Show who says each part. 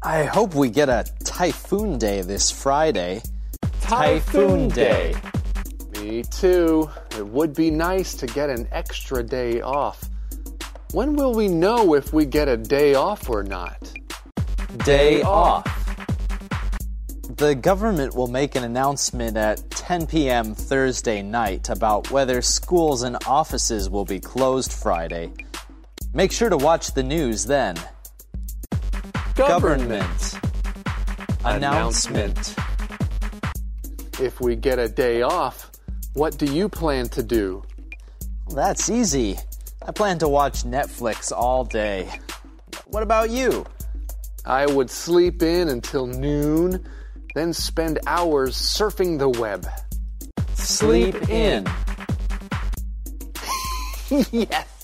Speaker 1: I hope we get a typhoon day this Friday.
Speaker 2: Typhoon Day. Me too. It would be nice to get an extra day off. When will we know if we get a day off or not?
Speaker 1: Day off. The government will make an announcement at 10 p.m. Thursday night about whether schools and offices will be closed Friday. Make sure to watch the news then. Government. Announcement.
Speaker 2: If we get a day off, what do you plan to do?
Speaker 1: That's easy. I plan to watch Netflix all day. What about you?
Speaker 2: I would sleep in until noon, then spend hours surfing the web.
Speaker 1: Sleep in.
Speaker 2: Yes!